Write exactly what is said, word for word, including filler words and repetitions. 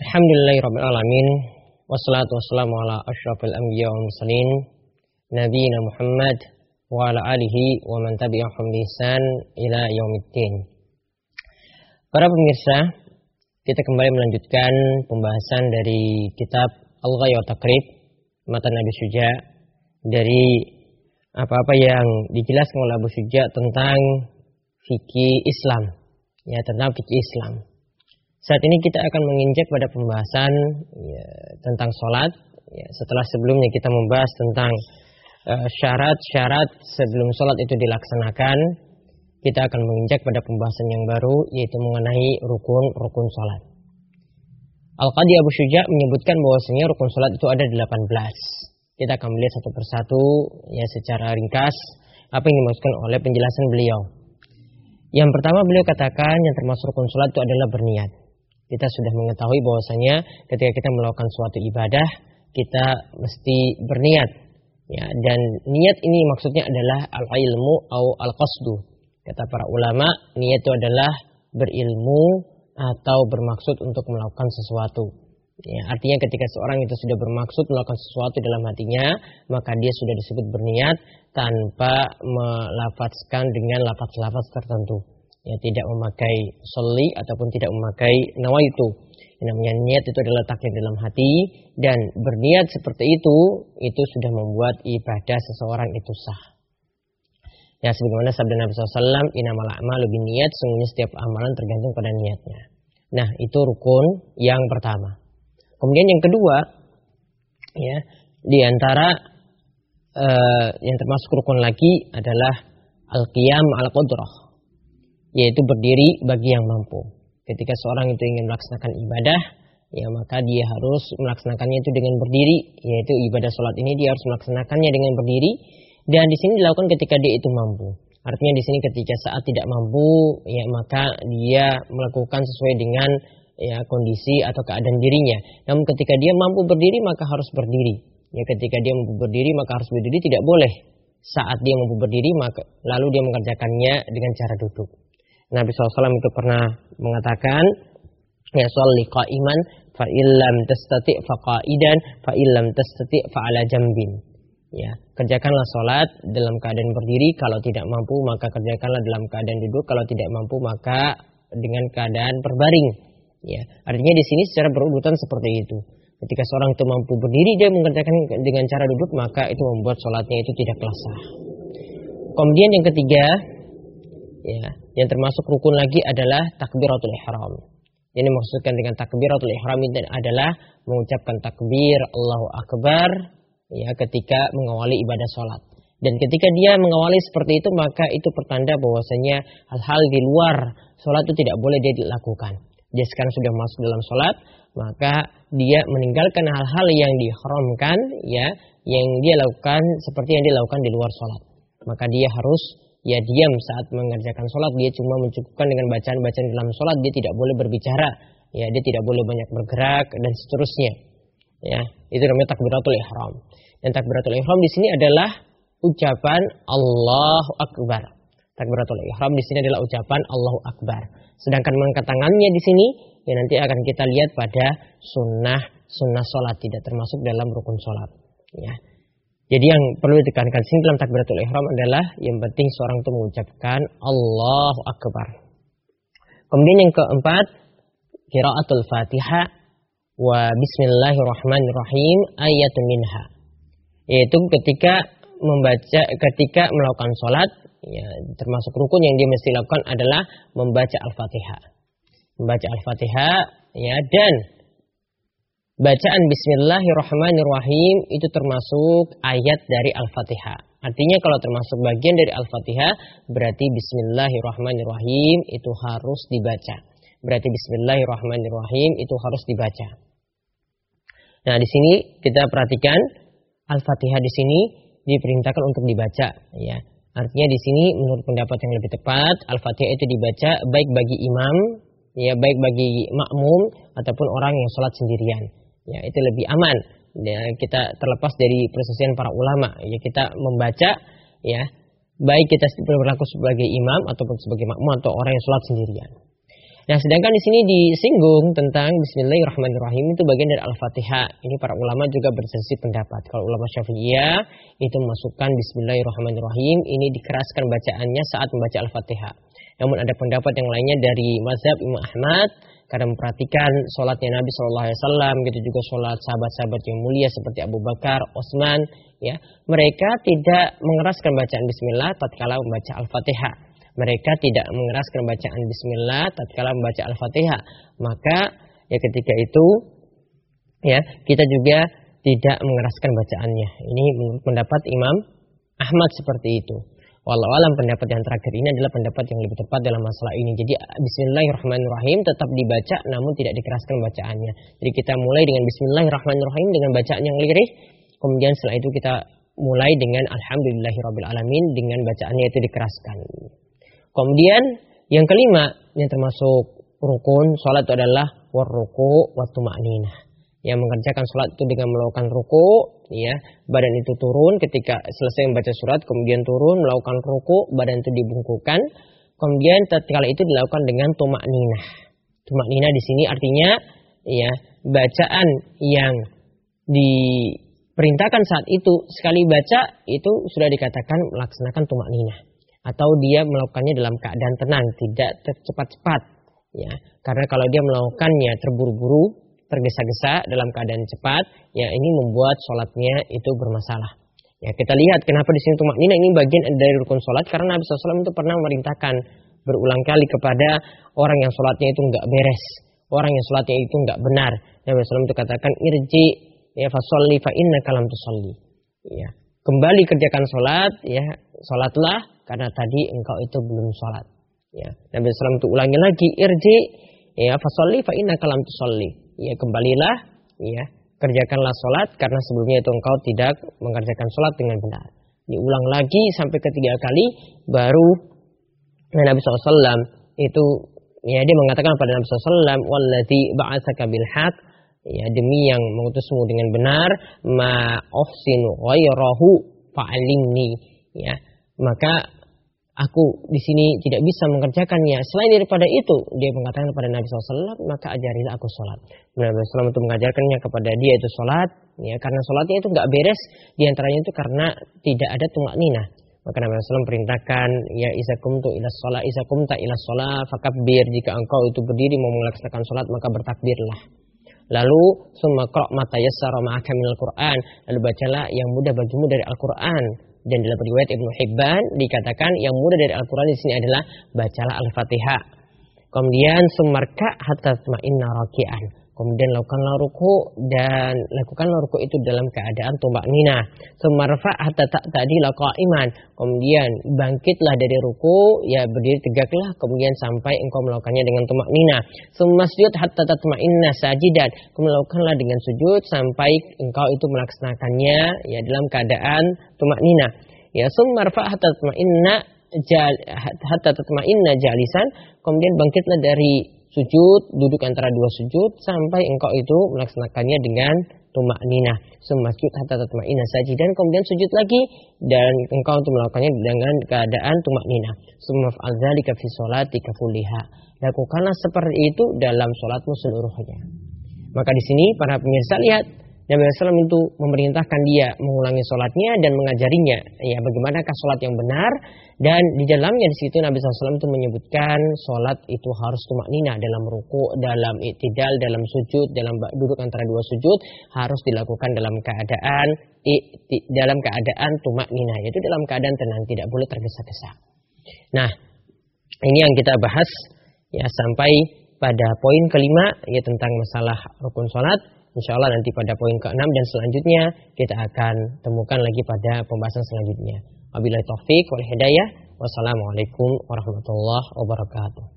Alhamdulillahirrabbilalamin. Wassalatu wassalamu ala asyrafil anbiya wal mursalin Nabiina Muhammad wa ala alihi wa man tabi'ahum bi ihsan ila yaumiddin. Para pemirsa, kita kembali melanjutkan pembahasan dari kitab Al-Ghaya wa Taqrib matan Abi Syuja, dari apa-apa yang dijelaskan oleh Abu Syuja tentang fikih Islam, ya, tentang fikih Islam. Saat ini kita akan menginjak pada pembahasan ya, tentang sholat. Ya, setelah sebelumnya kita membahas tentang uh, syarat-syarat sebelum sholat itu dilaksanakan, kita akan menginjak pada pembahasan yang baru, yaitu mengenai rukun-rukun sholat. Al-Qadi Abu Syuja menyebutkan bahwasanya rukun sholat itu ada delapan belas. Kita akan melihat satu persatu ya secara ringkas apa yang dimaksudkan oleh penjelasan beliau. Yang pertama beliau katakan yang termasuk rukun sholat itu adalah berniat. Kita sudah mengetahui bahwasanya ketika kita melakukan suatu ibadah, kita mesti berniat. Ya, dan niat ini maksudnya adalah al-ilmu atau al-qasdu. Kata para ulama, niat itu adalah berilmu atau bermaksud untuk melakukan sesuatu. Ya, artinya ketika seorang itu sudah bermaksud melakukan sesuatu dalam hatinya, maka dia sudah disebut berniat tanpa melafazkan dengan lafaz-lafaz tertentu. Ya, tidak memakai sholli ataupun tidak memakai nawaitu. Yang namanya niat itu adalah letaknya dalam hati, dan berniat seperti itu itu sudah membuat ibadah seseorang itu sah. Ya, sebagaimana sabda Nabi shallallahu alaihi wasallam, innamal a'malu binniyat, sungguhnya setiap amalan tergantung pada niatnya. Nah, itu rukun yang pertama. Kemudian yang kedua, ya, di antara uh, yang termasuk rukun lagi adalah al-qiyam al-qudrah, yaitu berdiri bagi yang mampu. Ketika seorang itu ingin melaksanakan ibadah, ya maka dia harus melaksanakannya itu dengan berdiri, yaitu ibadah sholat ini dia harus melaksanakannya dengan berdiri, dan di sini dilakukan ketika dia itu mampu. Artinya di sini ketika saat tidak mampu, ya maka dia melakukan sesuai dengan ya kondisi atau keadaan dirinya. Namun ketika dia mampu berdiri maka harus berdiri. Ya, ketika dia mampu berdiri maka harus berdiri, tidak boleh saat dia mampu berdiri maka lalu dia mengerjakannya dengan cara duduk. Nabi shallallahu alaihi wasallam itu pernah mengatakan, ya sholli qa'iman fa illam tastati' fa qa'idan fa illam tastati' fa ala jambin. Ya, kerjakanlah sholat dalam keadaan berdiri, kalau tidak mampu maka kerjakanlah dalam keadaan duduk, kalau tidak mampu maka dengan keadaan berbaring. Ya, artinya di sini secara berurutan seperti itu. Ketika seorang itu mampu berdiri dia mengerjakan dengan cara duduk, maka itu membuat sholatnya itu tidak sah. Kemudian yang ketiga, ya, yang termasuk rukun lagi adalah takbiratul ihram. Ini maksudkan dengan takbiratul ihram itu adalah mengucapkan takbir Allahu Akbar, ya, ketika mengawali ibadah sholat. Dan ketika dia mengawali seperti itu, maka itu pertanda bahwasanya hal-hal di luar sholat itu tidak boleh dia dilakukan. Dia sekarang sudah masuk dalam sholat, maka dia meninggalkan hal-hal yang diharamkan, ya, yang dia lakukan seperti yang dia lakukan di luar sholat. Maka dia harus ya diam saat mengerjakan sholat, dia cuma mencukupkan dengan bacaan-bacaan dalam sholat, dia tidak boleh berbicara, ya, dia tidak boleh banyak bergerak dan seterusnya. Ya, itu namanya takbiratul ihram. Dan takbiratul ihram di sini adalah ucapan Allahu Akbar. Takbiratul ihram di sini adalah ucapan Allahu Akbar. Sedangkan mengangkat tangannya di sini, ya nanti akan kita lihat pada sunnah sunnah sholat, tidak termasuk dalam rukun sholat. Ya. Jadi yang perlu ditekankan sini dalam takbiratul ihram adalah yang penting seorang itu mengucapkan Allahu Akbar. Kemudian yang keempat, qiraatul Fatihah wa bismillahirrahmanirrahim ayatun minha. Yaitu ketika membaca ketika melakukan sholat, ya, termasuk rukun yang dia mesti lakukan adalah membaca Al-Fatihah. Membaca Al-Fatihah, ya, dan bacaan bismillahirrahmanirrahim itu termasuk ayat dari Al-Fatihah. Artinya kalau termasuk bagian dari Al-Fatihah, berarti bismillahirrahmanirrahim itu harus dibaca. Berarti bismillahirrahmanirrahim itu harus dibaca. Nah, di sini kita perhatikan Al-Fatihah di sini diperintahkan untuk dibaca, ya. Artinya di sini menurut pendapat yang lebih tepat, Al-Fatihah itu dibaca baik bagi imam, ya, baik bagi makmum ataupun orang yang sholat sendirian. Ya, itu lebih aman. Ya, kita terlepas dari perselisihan para ulama. Ya, kita membaca, ya, baik kita berlaku sebagai imam ataupun sebagai makmum atau orang yang sholat sendirian. Nah, sedangkan di sini disinggung tentang Bismillahirrahmanirrahim itu bagian dari Al-Fatihah. Ini para ulama juga berselisih pendapat. Kalau ulama Syafi'iyah itu memasukkan Bismillahirrahmanirrahim, ini dikeraskan bacaannya saat membaca Al-Fatihah. Namun ada pendapat yang lainnya dari mazhab Imam Ahmad karena memperhatikan sholatnya Nabi Shallallahu Alaihi Wasallam, gitu juga sholat sahabat-sahabat yang mulia seperti Abu Bakar, Utsman, ya, mereka tidak mengeraskan bacaan Bismillah tatkala membaca Al-Fatihah. Mereka tidak mengeraskan bacaan Bismillah tatkala membaca Al-Fatihah. Maka ya ketika itu ya kita juga tidak mengeraskan bacaannya. Ini menurut pendapat Imam Ahmad seperti itu. Wallahu alam, pendapat yang terakhir ini adalah pendapat yang lebih tepat dalam masalah ini. Jadi Bismillahirrahmanirrahim tetap dibaca namun tidak dikeraskan bacaannya. Jadi kita mulai dengan Bismillahirrahmanirrahim dengan bacaan yang lirih. Kemudian setelah itu kita mulai dengan Alhamdulillahirabbil alamin dengan bacaannya itu dikeraskan. Kemudian yang kelima yang termasuk rukun salat itu adalah warruku wa tuma'ninah. Yang mengerjakan salat itu dengan melakukan ruku, ya, badan itu turun ketika selesai membaca surat, kemudian turun melakukan ruku, badan itu dibungkukkan, kemudian tatkala itu dilakukan dengan tuma'ninah. Tuma'ninah di sini artinya ya bacaan yang diperintahkan saat itu sekali baca itu sudah dikatakan melaksanakan tuma'ninah. Atau dia melakukannya dalam keadaan tenang, tidak cepat-cepat, ya. Karena kalau dia melakukannya terburu-buru, tergesa-gesa dalam keadaan cepat, ya ini membuat sholatnya itu bermasalah. Ya kita lihat kenapa di sini tumakninah ini bagian dari rukun sholat, karena Nabi shallallahu alaihi wasallam itu pernah memerintahkan berulang kali kepada orang yang sholatnya itu nggak beres, orang yang sholatnya itu nggak benar. Nabi shallallahu alaihi wasallam itu katakan irji ya fasolli fa inna kalam tusolli. Ya kembali kerjakan sholat, ya sholatlah karena tadi engkau itu belum sholat. Ya Nabi shallallahu alaihi wasallam itu ulangi lagi irji ya fasolli fa inna kalam tusolli. Ya kembalilah, ya kerjakanlah sholat karena sebelumnya itu engkau tidak mengerjakan sholat dengan benar. Diulang lagi sampai ketiga kali, baru Nabi shallallahu alaihi wasallam itu ya dia mengatakan pada Nabi shallallahu alaihi wasallam, "Walladzi ba'atsaka bil haq", ya demi yang mengutusmu dengan benar, ma uhsinu ghairahu fa'alimni, ya maka aku di sini tidak bisa mengerjakannya selain daripada itu. Dia mengatakan kepada Nabi shallallahu alaihi wasallam, maka ajarilah aku sholat. Nabi shallallahu alaihi wasallam itu mengajarkannya kepada dia itu sholat, ya karena sholatnya itu nggak beres, diantaranya itu karena tidak ada tumakninah. Maka Nabi shallallahu alaihi wasallam perintahkan, ya izakumtu ila sholat, izakumta ila sholat, fakabbir, jika engkau itu berdiri mau melaksanakan sholat maka bertakbirlah. Lalu summa qra' ma tayassara ma'aka minal Qur'an, lalu bacalah yang mudah bagimu dari Al-Qur'an. Dan dalam riwayat Ibnu Hibban dikatakan yang mudah dari Al-Quran di sini adalah bacalah Al-Fatihah. Kemudian sumarka hatta tatma'inna raki'an. Kemudian lakukanlah ruku dan lakukanlah ruku itu dalam keadaan tumakninah. Sumarfa hatta ta'tadila qa'iman. Kemudian bangkitlah dari ruku, ya berdiri tegaklah, kemudian sampai engkau melakukannya dengan tumakninah. Sumasjud hatta tatma'inna sajidan. Kemudian lakukanlah dengan sujud sampai engkau itu melaksanakannya ya dalam keadaan tumakninah. Ya sumarfa hatta tatma'inna jal hatta tatma'inna jalisan. Kemudian bangkitlah dari sujud, duduk antara dua sujud sampai engkau itu melaksanakannya dengan tumakninah. Sumasjud hatta tatma'inna sajidan, kemudian sujud lagi dan engkau untuk melakukannya dengan keadaan tumakninah. Sumaf'al dzalika fi sholatika kulliha. Lakukanlah seperti itu dalam salatmu seluruhnya. Maka di sini para pemirsa lihat Nabi shallallahu alaihi wasallam itu memerintahkan dia mengulangi sholatnya dan mengajarinya ya bagaimanakah sholat yang benar, dan di dalamnya di situ Nabi shallallahu alaihi wasallam itu menyebutkan sholat itu harus tumakninah dalam ruku, dalam i'tidal, dalam sujud, dalam duduk antara dua sujud harus dilakukan dalam keadaan dalam keadaan tumakninah, yaitu dalam keadaan tenang, tidak boleh tergesa-gesa. Nah, ini yang kita bahas ya sampai pada poin kelima ya tentang masalah rukun sholat. Insya Allah nanti pada poin keenam dan selanjutnya kita akan temukan lagi pada pembahasan selanjutnya. Wabillahi taufik wal hidayah. Wassalamualaikum warahmatullahi wabarakatuh.